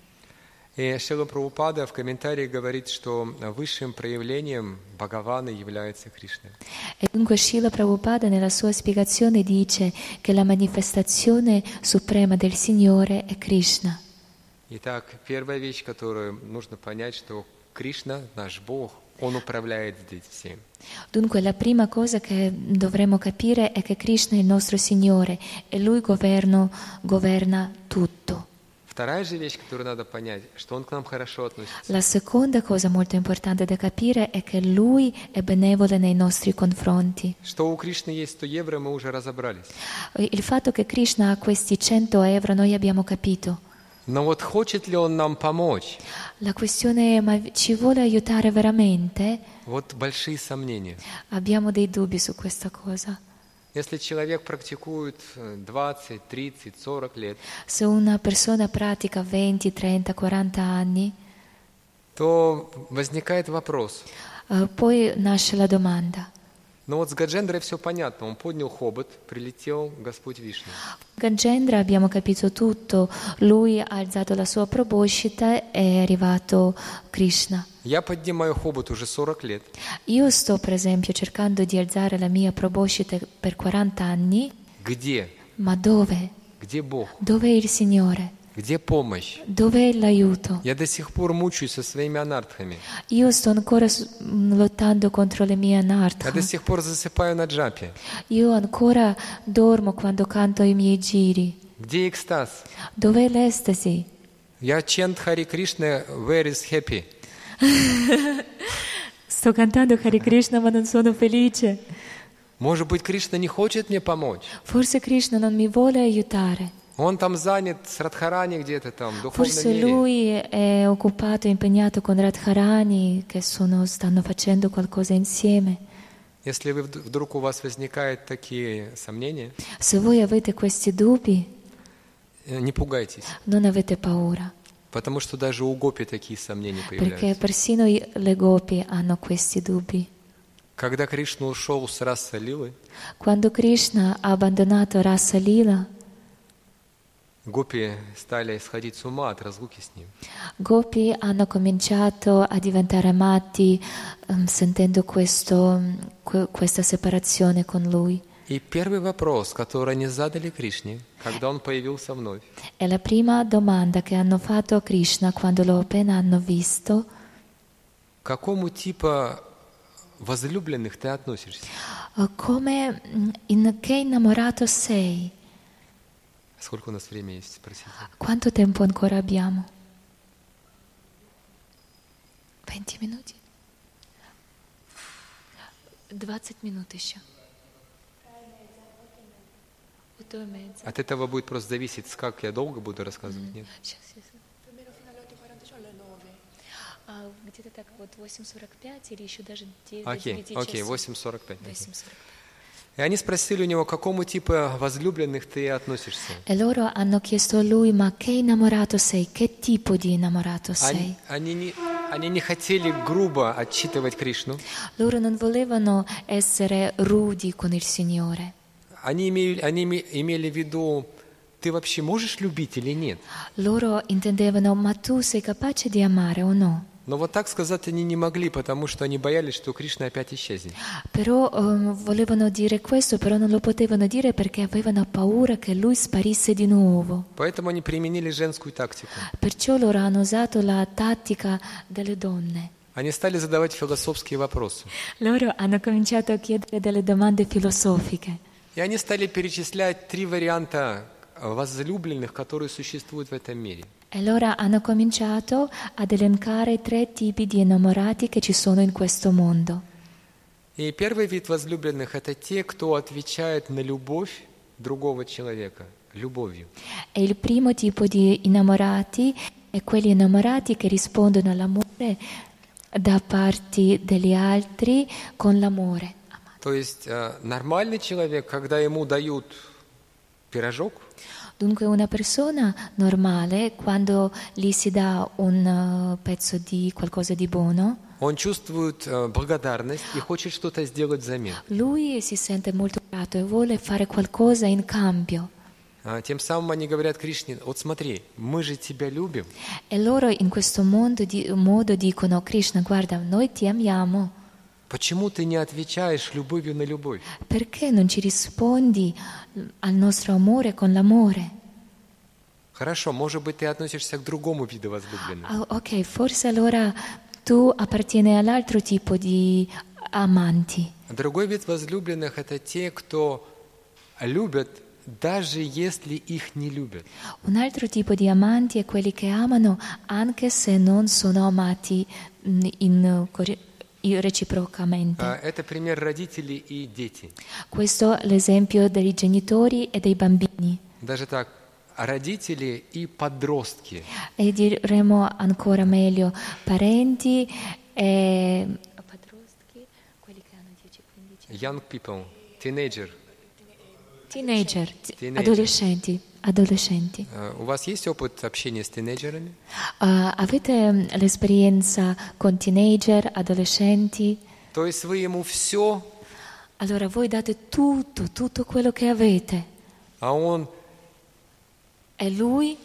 A: И Шрила Прабхупада в комментарии говорит, что высшим проявлением Бхагавана является Кришна.
B: E dunque Srila Prabhupada nella sua spiegazione dice che la manifestazione suprema del Signore è Krishna.
A: Итак, первая вещь, которую нужно понять, что Кришна, наш Бог, Он управляет здесь всем.
B: Dunque la prima cosa che dovremmo capire è che Krishna è il nostro Signore e Lui governo, governa tutto.
A: Вторая же вещь, которую надо понять, что он к нам хорошо относится.
B: La seconda cosa molto importante da capire è che Lui è benevole nei nostri confronti.
A: Что у Кришны есть сто евро, мы уже разобрались.
B: Il fatto che Krishna ha questi cento euro noi abbiamo capito.
A: Но вот хочет ли он нам помочь?
B: La questione è, ma ci vuole aiutare veramente?
A: Вот большие сомнения.
B: Abbiamo dei dubbi su questa cosa.
A: Если человек практикует двадцать, тридцать, сорок лет,
B: Se una persona pratica venti, trenta, quaranta anni,
A: то возникает вопрос.
B: eh, poi nasce la domanda.
A: Ну вот с Гаджендрой все понятно. Он поднял хобот, прилетел Господь Вишну.
B: Gagendra abbiamo capito tutto, lui ha alzato la sua proboscita e è arrivato Krishna.
A: Я поднимаю хобот уже сорок лет.
B: Io sto per esempio cercando di alzare la mia proboscita per quaranta anni,
A: Где?
B: ma dove?
A: Где Бог?
B: Dove è il Signore?
A: Где помощь?
B: Dove è l'aiuto?
A: Я до сих пор мучаюсь со своими анартхами.
B: Io sto ancora s- m, lottando contro le mie
A: Я
B: anartha.
A: до сих пор засыпаю на джапе.
B: Io ancora dormo quando canto i miei giri.
A: Где экстаз?
B: Dov'è l'estasi?
A: Я чент Хари Кришна, where is happy?
B: Sto cantando Hare Krishna ma non sono felice.
A: Может быть, Кришна не хочет мне помочь?
B: Forse Krishna non mi vuole aiutare.
A: Он там занят с Радхарани где-то там, в духовном
B: Forse
A: мире.
B: lui è occupato, impegnato con Radharani che sono, stanno facendo qualcosa insieme.
A: Если вы, вд- вдруг у вас возникают такие сомнения,
B: Se voi avete questi dubbi,
A: э, не пугайтесь,
B: non avete paura,
A: потому что даже у гопи такие сомнения
B: perché
A: появляются.
B: persino i- le gopi hanno questi dubbi.
A: Когда Кришна ушел с раса Лилы,
B: Quando Krishna ha abbandonato Rasa Lila,
A: гопи стали сходить с ума от разлуки с ним.
B: Gopi hanno cominciato a diventare matti ehm, sentendo questo, que- questa separazione con lui.
A: И первый вопрос, который они задали Кришне, когда он появился вновь,
B: E la prima domanda che hanno fatto a Krishna quando lo appena hanno visto,
A: к какому типу возлюбленных ты относишься?
B: eh, come, mm, in che innamorato sei?
A: Сколько у нас времени есть, спросите?
B: Quanto tempo ancora abbiamo? venti minuti? двадцать минут еще. otto e mezza.
A: От этого будет просто зависеть, как я долго буду рассказывать, нет?
B: Сейчас, сейчас. А, где-то так вот восемь сорок пять или еще даже девять,
A: Окей,
B: девять
A: окей,
B: часов.
A: восемь сорок пять.
B: восемь сорок пять.
A: И они спросили у него, к какому типу возлюбленных ты относишься?
B: E loro hanno chiesto a lui, ma che innamorato sei? Che tipo di innamorato
A: Они,
B: sei?
A: они, не, они не хотели грубо отчитывать Кришну.
B: Loro non volevano essere rudi con il Signore.
A: Они имели, они име- имели в виду, ты вообще можешь любить или нет?
B: Loro intendevano, ma tu sei capace di amare o no?
A: Но вот так сказать они не могли, потому что они боялись, что Кришна опять исчезнет.
B: Però ehm, volevano dire questo, però non lo potevano dire perché avevano paura che lui sparisse di nuovo.
A: Поэтому они применили женскую тактику.
B: Perciò loro hanno usato la tattica delle donne.
A: Они стали задавать философские вопросы.
B: Loro hanno cominciato a chiedere delle domande filosofiche.
A: И они стали перечислять три варианта возлюбленных, которые существуют в этом мире.
B: E allora hanno cominciato ad elencare tre tipi di innamorati che ci sono in questo mondo.
A: И первый вид возлюбленных – это те, кто отвечает на любовь другого человека любовью.
B: E il primo tipo di innamorati è quelli innamorati che rispondono all'amore da parte degli altri con l'amore.
A: То есть э, нормальный человек, когда ему дают пирожок,
B: Dunque una persona normale, quando gli si dà un uh, pezzo di qualcosa di buono,
A: он чувствует э, благодарность и хочет что-то сделать взамен.
B: lui si sente molto grato e vuole fare qualcosa in cambio.
A: А, Тем самым они говорят Кришне, вот смотри, мы же тебя любим,
B: E loro in questo mondo di- modo dicono, Krishna, guarda, noi ti amiamo,
A: почему ты не отвечаешь любовью на любовь?
B: perché non ci rispondi al nostro amore con l'amore?
A: Хорошо, может быть, ты относишься к другому виду возлюбленных.
B: Ah, ok, forse allora tu appartieni all'altro tipo di amanti.
A: Другой вид возлюбленных – это те, кто любят даже если их не любят.
B: Un altro tipo di amanti è quelli che amano anche se non sono amati mm, in, in, reciprocamente.
A: А, Это пример родителей и дети.
B: Questo è l'esempio dei genitori e dei bambini.
A: Даже так, родители и подростки.
B: E diremo ancora meglio parenti e padrostchi, quelli che hanno dieci quindici anni.
A: Young people, teenager.
B: Teenager,
A: Teenager.
B: adolescenti, adolescenti.
A: А, У вас есть опыт общения с тинейджерами?
B: Uh, avete mm, l'esperienza con teenager, adolescenti?
A: То есть вы ему все,
B: Allora voi date tutto, tutto quello che avete.
A: а он...
B: E lui?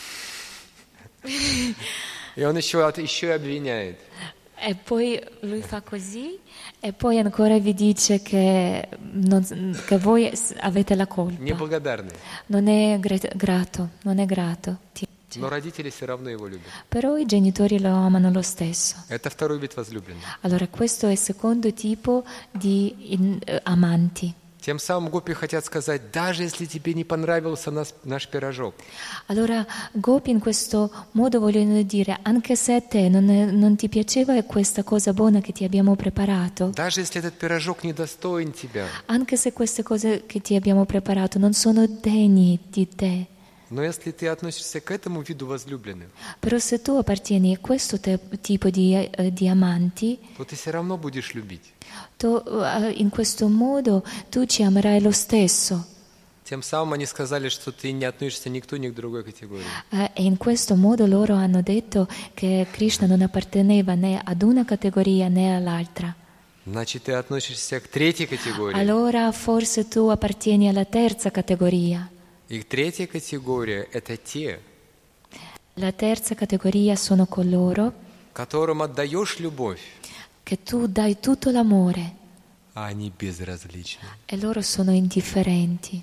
A: И он еще, от- еще и обвиняет.
B: E poi lui fa così e poi ancora vi dice che, non- che voi s- avete la colpa.
A: Неблагодарный.
B: Non è gra- grato, non è grato. Ti dice.
A: Но родители все равно его любят.
B: Però i genitori lo amano lo stesso.
A: Это второй вид возлюбленных.
B: Allora questo è il secondo tipo di in- eh, amanti.
A: Тем самым гопи хотят сказать, даже если тебе не понравился нас- наш пирожок,
B: Allora Gopi in questo modo vogliono dire, anche se a te non, è- non ti piaceva questa cosa buona che ti abbiamo preparato,
A: даже если этот пирожок недостоин тебя,
B: anche se queste cose che ti abbiamo preparato non sono degni di te,
A: но если ты относишься к этому виду возлюбленных,
B: però se tu appartieni a questo te- tipo di, eh, di amanti,
A: то ты все равно будешь любить.
B: tu, eh, in questo modo tu ci amerai lo stesso.
A: Тем самым они сказали, что ты не относишься ни к той, ни к другой категории.
B: Eh, e in questo modo loro hanno detto che Krishna non apparteneva né ad una categoria né all'altra.
A: Значит, ты относишься к третьей категории.
B: Allora forse tu appartieni alla terza categoria.
A: И третья категория – это те,
B: La terza categoria sono coloro
A: которым отдаешь любовь,
B: che tu dai tutto l'amore
A: а они безразличны.
B: e loro sono indifferenti.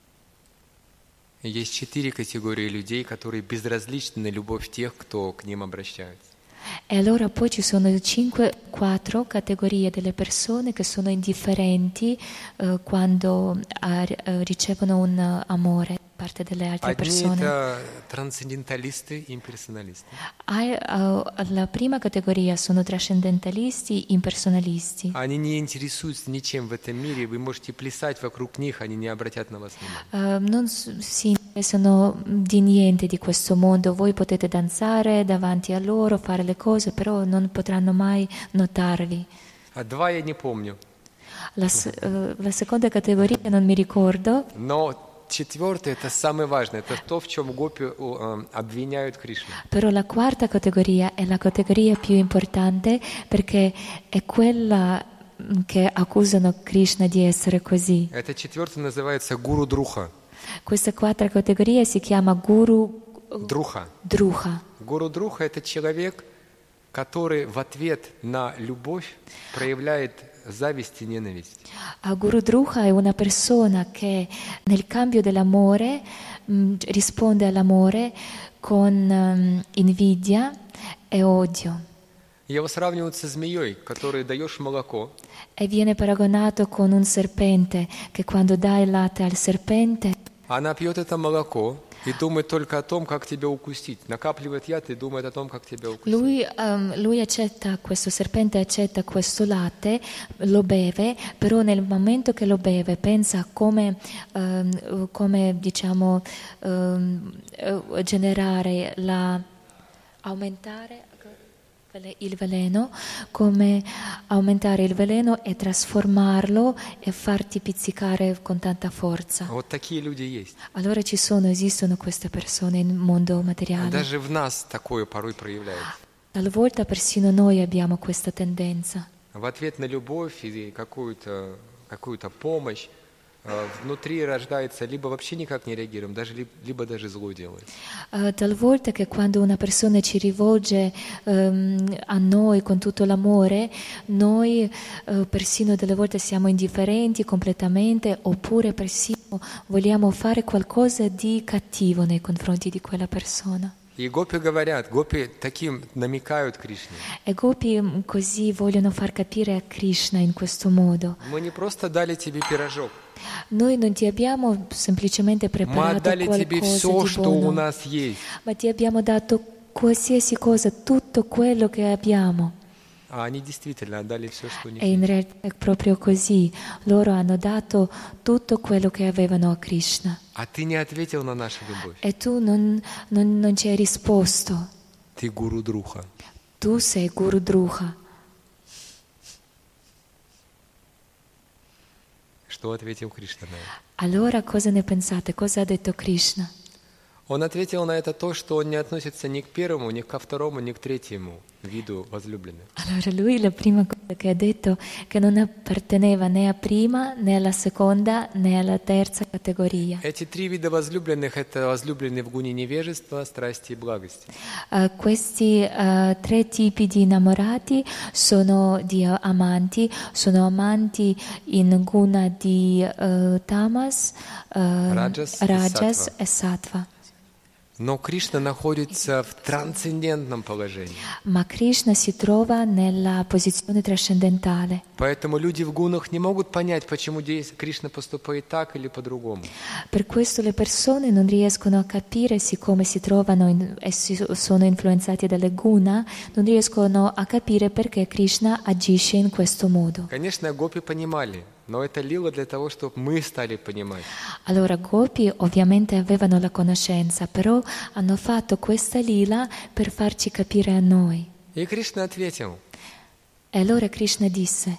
A: И есть четыре категории людей, которые безразличны на любовь тех, кто к ним обращается.
B: E allora poi ci sono cinque, quattro categorie delle persone che sono indifferenti eh, quando ah, eh, ricevono un eh, amore da parte delle altre
A: Одни
B: persone.
A: это трансценденталисты, имперсоналисты.
B: Ah, eh, la prima categoria sono trascendentalisti, impersonalisti.
A: Они не интересуются ничем в этом мире, вы можете плясать вокруг них, они не обратят на вас внимания.
B: Eh, non s- si interessano di niente di questo mondo. Voi potete danzare davanti a loro, fare le cose, però non potranno mai notarvi.
A: А два я не помню,
B: La, s- eh, la seconda categoria non mi ricordo,
A: но четвертое – это самое важное, это то, в чем гопи э, обвиняют Кришну.
B: però la quarta categoria è la categoria più importante perché è quella mm, che accusano Krishna di essere così.
A: Это четвертое называется гуру друха.
B: Questa quarta categoria si chiama Guru
A: Друха.
B: Druha.
A: Гуру друха – это человек, который в ответ на любовь проявляет зависть и ненависть.
B: A Guru Druha è una persona che nel cambio dell'amore mh, risponde all'amore con mh, invidia e odio
A: Его сравнивают со змеей, которой даешь молоко,
B: e viene paragonato con un serpente che quando dà il latte al serpente
A: она пьет это молоко и думает только о том, как тебя укусить. Накапливает яд и думает о том, как тебя укусить.
B: lui, ehm, lui accetta questo serpente accetta questo latte, lo beve, però nel momento che lo beve pensa a come, ehm, come diciamo ehm, eh, generare la aumentare il veleno, come aumentare il veleno e trasformarlo e farti pizzicare con tanta forza.
A: Вот такие люди есть.
B: Allora ci sono, esistono queste persone nel mondo materiale.
A: Даже в нас такое порой проявляется.
B: Talvolta persino noi abbiamo questa tendenza.
A: В ответ на любовь или какую-то какую-то помощь э, внутри рождается, либо вообще никак не реагируем, даже, ли- либо даже зло делаем.
B: Uh, talvolta che quando una persona ci rivolge ehm, a noi con tutto l'amore, noi eh, persino delle volte siamo indifferenti completamente oppure persino vogliamo fare qualcosa di cattivo nei confronti di quella persona.
A: И гопи говорят, гопи таким намекают Кришне.
B: E Gopi così vogliono far capire a Krishna in questo modo.
A: Мы не просто дали тебе пирожок,
B: Noi non ti abbiamo semplicemente
A: Мы
B: preparato
A: отдали тебе
B: qualcosa
A: все,
B: di
A: что у
B: buono,
A: нас есть.
B: ma ti abbiamo dato qualsiasi cosa, tutto quello che abbiamo.
A: А они действительно отдали все, что у них
B: E in
A: есть.
B: realtà è proprio così. Loro hanno dato tutto quello che avevano a Krishna.
A: А ты не ответил на нашу любовь.
B: E tu non, non, non ci hai risposto.
A: Ты гуру Друха.
B: Tu sei Guru Druha.
A: Что ответил Кришна на это?
B: Allora cosa ne pensate? Cosa ha detto Krishna?
A: Он ответил на это то, что он не относится ни к первому, ни ко второму, ни к третьему виду возлюбленных.
B: Allora lui la prima cosa che ha detto è che non apparteneva né a prima, né alla seconda, né alla terza categoria.
A: Эти три вида возлюбленных – это возлюбленные в гуне невежества, страсти и благости.
B: Uh, questi uh, tre tipi di innamorati sono di amanti, sono amanti in guna di uh, tamas, uh,
A: Rajas e
B: rajas
A: sattva.
B: e sattva.
A: Но Кришна находится в трансцендентном положении.
B: Ma Krishna si trova nella posizione trascendentale.
A: Поэтому люди в гунах не могут понять, почему здесь Кришна поступает так или по-другому.
B: Per questo le persone non riescono a capire, siccome si trovano in, e si, sono influenzati dalle guna, non riescono a capire perché Krishna agisce in questo modo.
A: Конечно, гопи понимали, но это лила для того, чтобы мы стали понимать.
B: Allora Gopi ovviamente avevano la conoscenza, però hanno fatto questa lila per farci capire a noi.
A: И Кришна ответил:
B: E allora Krishna disse: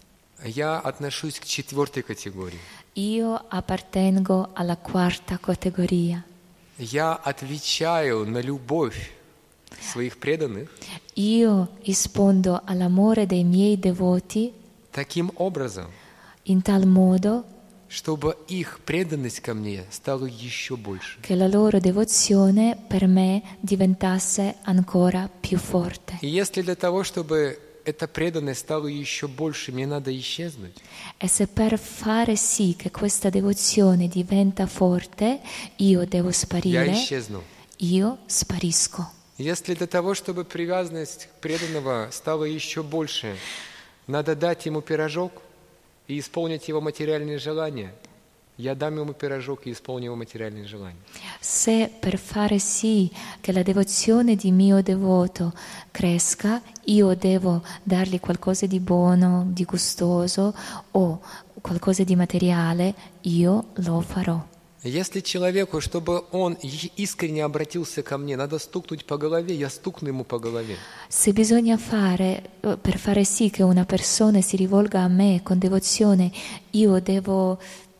A: я отношусь к четвертой категории.
B: io appartengo alla quarta categoria.
A: Я отвечаю на любовь своих преданных
B: Io rispondo all'amore dei miei devoti
A: таким образом,
B: in tal modo
A: чтобы их преданность ко мне стала еще больше.
B: che la loro devozione per me diventasse ancora più forte.
A: И если для того, чтобы эта преданность стала еще больше, мне надо исчезнуть,
B: E se per fare sì che questa devozione diventa forte, io devo
A: я
B: sparire,
A: исчезну.
B: io sparisco.
A: Если для того, чтобы привязанность преданного стала еще больше, надо дать ему пирожок и исполнить его материальные желания, я дам ему пирожок и исполню его материальные желания.
B: Se per fare sì che la devozione di mio devoto cresca, io devo dargli qualcosa di buono, di gustoso o qualcosa di materiale, io lo farò.
A: Если человеку, чтобы он искренне обратился ко мне, надо стукнуть по голове, я стукну ему по голове.
B: Se bisogna fare, per fare sì che una persona si rivolga a me con devozione, io devo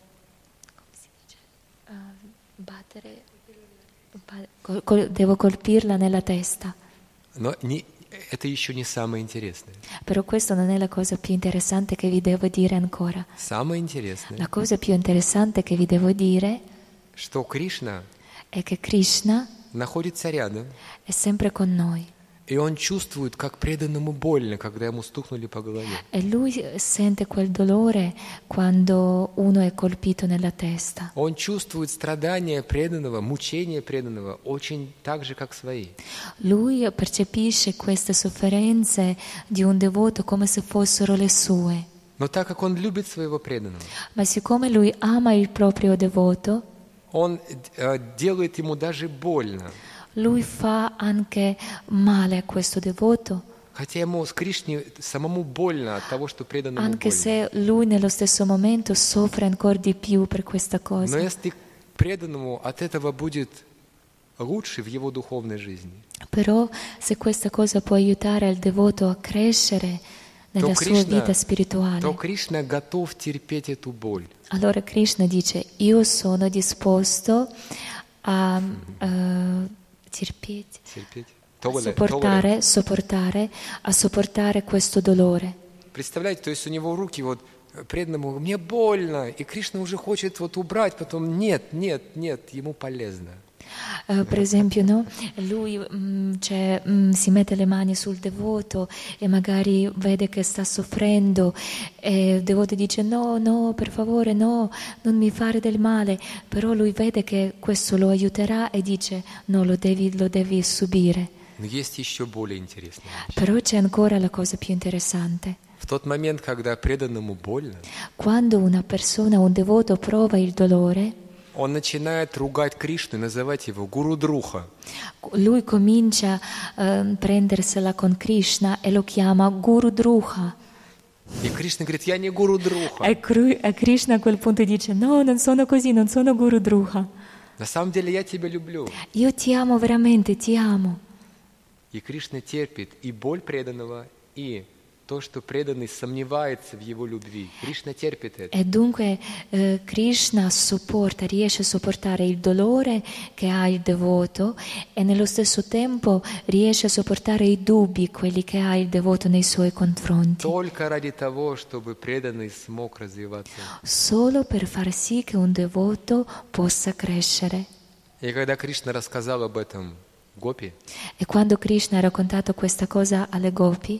B: battere, col- col- devo colpirla nella testa.
A: Но не, это еще не самое интересное.
B: Però questa non è la cosa più interessante che vi devo dire ancora.
A: Самое интересное,
B: La cosa più interessante che vi devo dire
A: что Кришна
B: è che Krishna
A: находится рядом,
B: è sempre con noi
A: и он чувствует, как преданному больно, когда ему стукнули по голове.
B: e lui sente quel dolore quando uno è colpito nella testa.
A: Он чувствует страдания преданного, мучения преданного очень так же, как свои.
B: Lui percepisce queste sofferenze di un devoto come se fossero le sue,
A: Но так как он любит своего преданного,
B: ma siccome lui ama il proprio devoto,
A: он э, делает ему даже больно.
B: lui fa anche male a questo devoto,
A: Хотя ему с Кришне самому больно от того, что преданному
B: anche
A: больно.
B: se lui nello stesso momento soffre ancora di più per questa
A: Но
B: cosa.
A: если преданному от этого будет лучше в его духовной жизни,
B: Però se questa cosa può aiutare il devoto a crescere nella
A: то
B: sua
A: Кришна,
B: vita spirituale,
A: то Кришна готов терпеть эту боль.
B: allora Krishna dice: io sono disposto a eh, terpete,
A: Терпеть.
B: a
A: Толе- толе.
B: sopportare, sopportare, a sopportare questo dolore.
A: Представляете, то есть у него руки вот преданному, мне больно, и Кришна уже хочет вот убрать, потом нет, нет, нет, ему полезно.
B: Eh, per esempio, no? Lui mm, cioè, mm, si mette le mani sul devoto e magari vede che sta soffrendo e il devoto dice: no, no, per favore, no, non mi fare del male. Però lui vede che questo lo aiuterà e dice: no, lo devi, lo devi subire.
A: Но есть еще более интересное.
B: Però c'è ancora la cosa più interessante.
A: В В тот момент, когда преданному больно,
B: Quando una persona, un devoto prova il dolore,
A: он начинает ругать Кришну и называть его Гуру Друха.
B: lui comincia a prendersela con Krishna e lo chiama Guru Druha.
A: И Кришна говорит, я не Гуру Друха.
B: E Kru- e Krishna a quel punto dice: no, non sono così, non sono Guru Druha.
A: На самом деле я тебя люблю.
B: Io ti amo veramente, ti amo.
A: И Кришна терпит и боль преданного, и то, что преданный сомневается в его любви. Кришна терпит это.
B: E dunque eh, Krishna sopporta, riesce a sopportare il dolore che ha il devoto e nello stesso tempo riesce a sopportare i dubbi, quelli che ha il devoto nei suoi confronti,
A: Только ради того, чтобы преданный смог развиваться.
B: solo per far sì che un devoto possa crescere.
A: И когда Кришна рассказал об этом Гопи,
B: E quando Krishna ha raccontato questa cosa alle gopi,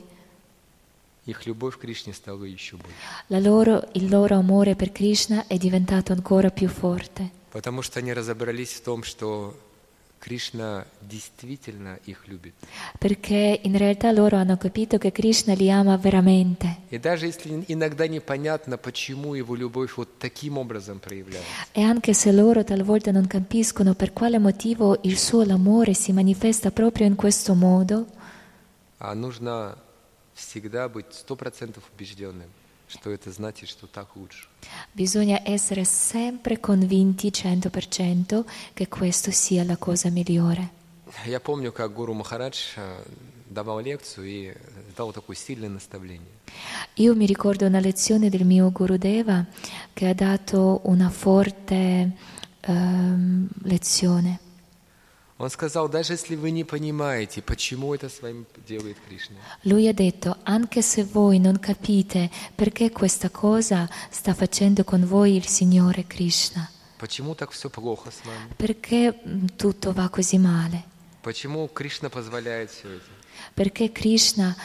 A: их любовь к Кришне стала еще больше.
B: la loro, il loro amore per Krishna è diventato ancora più forte,
A: Потому что они разобрались в том, что Кришна действительно их любит.
B: perché in realtà loro hanno capito che Krishna li ama veramente.
A: И даже если иногда непонятно, почему его любовь вот таким образом проявляется,
B: E anche se loro talvolta non capiscono per quale motivo il suo amore si manifesta proprio in questo modo,
A: а нужно всегда быть сто процентов убежденным, что это значит, что так лучше.
B: bisogna essere sempre convinti cento per cento che questo sia la cosa migliore.
A: Я помню, как Гуру Махарадж э, давал лекцию и дал такое сильное наставление.
B: Io mi ricordo una lezione del mio Gurudeva che ha dato una forte ehm, lezione.
A: Он сказал, даже если вы не понимаете, почему это с вами делает Кришна,
B: Lui ha detto: anche se voi non capite perché questa cosa sta facendo con voi il Signore Krishna,
A: почему так все плохо с вами,
B: perché mm, tutto va così male,
A: почему Кришна позволяет все это,
B: perché Krishna,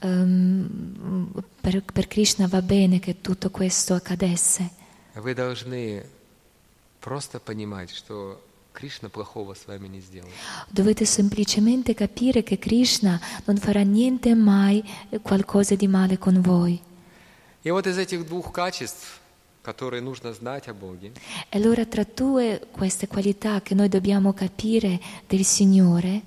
B: ehm, per, per Krishna va bene che tutto questo accadesse,
A: вы должны просто понимать, что Кришна плохого с вами не сделает.
B: dovete semplicemente capire che Krishna non farà niente mai qualcosa di male con voi.
A: И вот из этих двух качеств, которые нужно знать о Боге,
B: E allora tra due queste qualità che noi dobbiamo capire del Signore,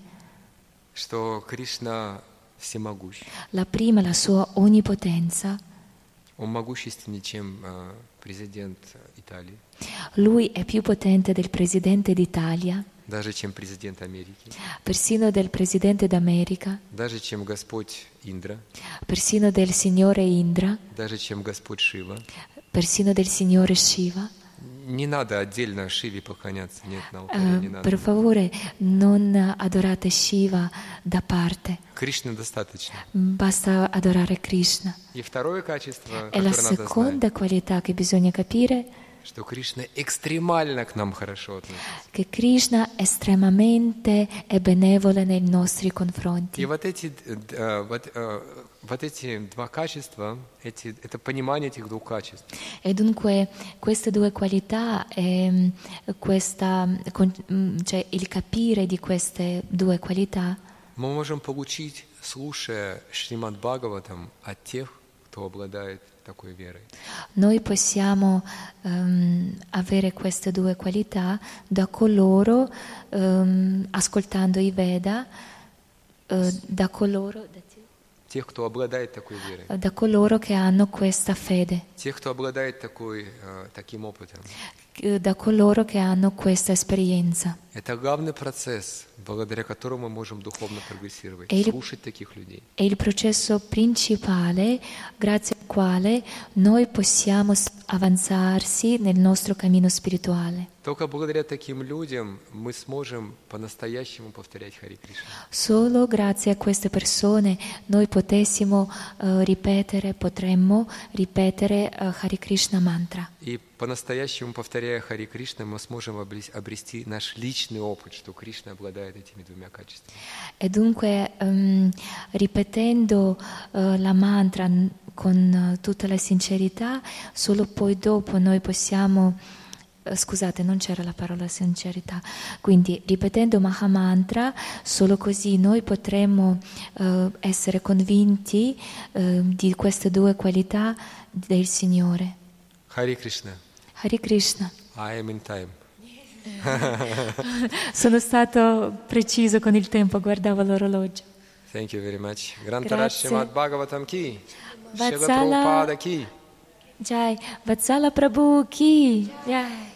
A: что Кришна всемогущ,
B: la prima la sua onnipotenza,
A: он могущественнее, чем э, президент Италии,
B: lui è più potente del Presidente d'Italia,
A: даже чем президент Америки,
B: persino del Presidente d'America,
A: даже чем Господь Индра,
B: persino del Signore Indra,
A: даже чем Господь Шива.
B: persino del Signore Shiva.
A: Не надо отдельно Шиве поклоняться, нет, на алтаре
B: Eh,
A: не надо.
B: per favore non adorate Shiva da parte,
A: Кришне достаточно.
B: basta adorare Krishna.
A: И второе качество,
B: E la
A: которое надо знать,
B: seconda qualità che bisogna capire
A: что Кришна экстремально к нам хорошо относится.
B: che Krishna è estremamente e benevole nei nostri
A: И
B: confronti.
A: вот эти, э, вот, э, вот эти два качества, эти, это понимание этих двух качеств,
B: E dunque queste due qualità, ehm, questa, con- mm, cioè il capire di queste due qualità,
A: мы можем получить, слушая Шримад Бхагаватам, от тех, кто обладает такой верой.
B: noi possiamo ehm, avere queste due qualità da coloro, ehm, ascoltando i Veda, eh, da coloro,
A: Тех, кто обладает такой верой.
B: da coloro che hanno questa fede,
A: Тех, кто обладает такой, э, таким опытом.
B: eh, da coloro che hanno questa esperienza.
A: Это главный процесс, благодаря которому мы можем духовно прогрессировать.
B: E il-
A: Слушать таких людей.
B: È il processo principale grazie al quale noi possiamo s- avanzarsi nel nostro cammino spirituale.
A: Только благодаря таким людям мы сможем по-настоящему повторять Хари Кришна.
B: Solo grazie a queste persone noi potessimo eh, ripetere, potremmo ripetere eh, Hare Krishna mantra.
A: И по-настоящему повторяя Хари Кришна, мы сможем обрес- обрести наш личный опыт, что Кришна обладает этими двумя качествами.
B: E dunque ehm, ripetendo eh, la mantra n- con eh, tutta la sincerità, solo poi dopo noi possiamo eh, scusate, non c'era la parola sincerità. Quindi ripetendo Mahamantra, solo così noi potremo eh, essere convinti eh, di queste due qualità del Signore.
A: Hare Krishna.
B: Hare Krishna.
A: I am in time.
B: Sono stato preciso con il tempo, guardavo l'orologio.
A: Thank you very much. Grantara
B: Grazie.
A: Srimad Bhagavatam ki. Shri
B: Vatsala.
A: Prabhupada ki.
B: Jai, Vatsala Prabhu ki. Jai.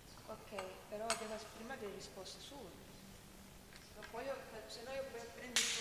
C: Ok, però deve prima delle risposte su. Se no poi io, se no io poi prendo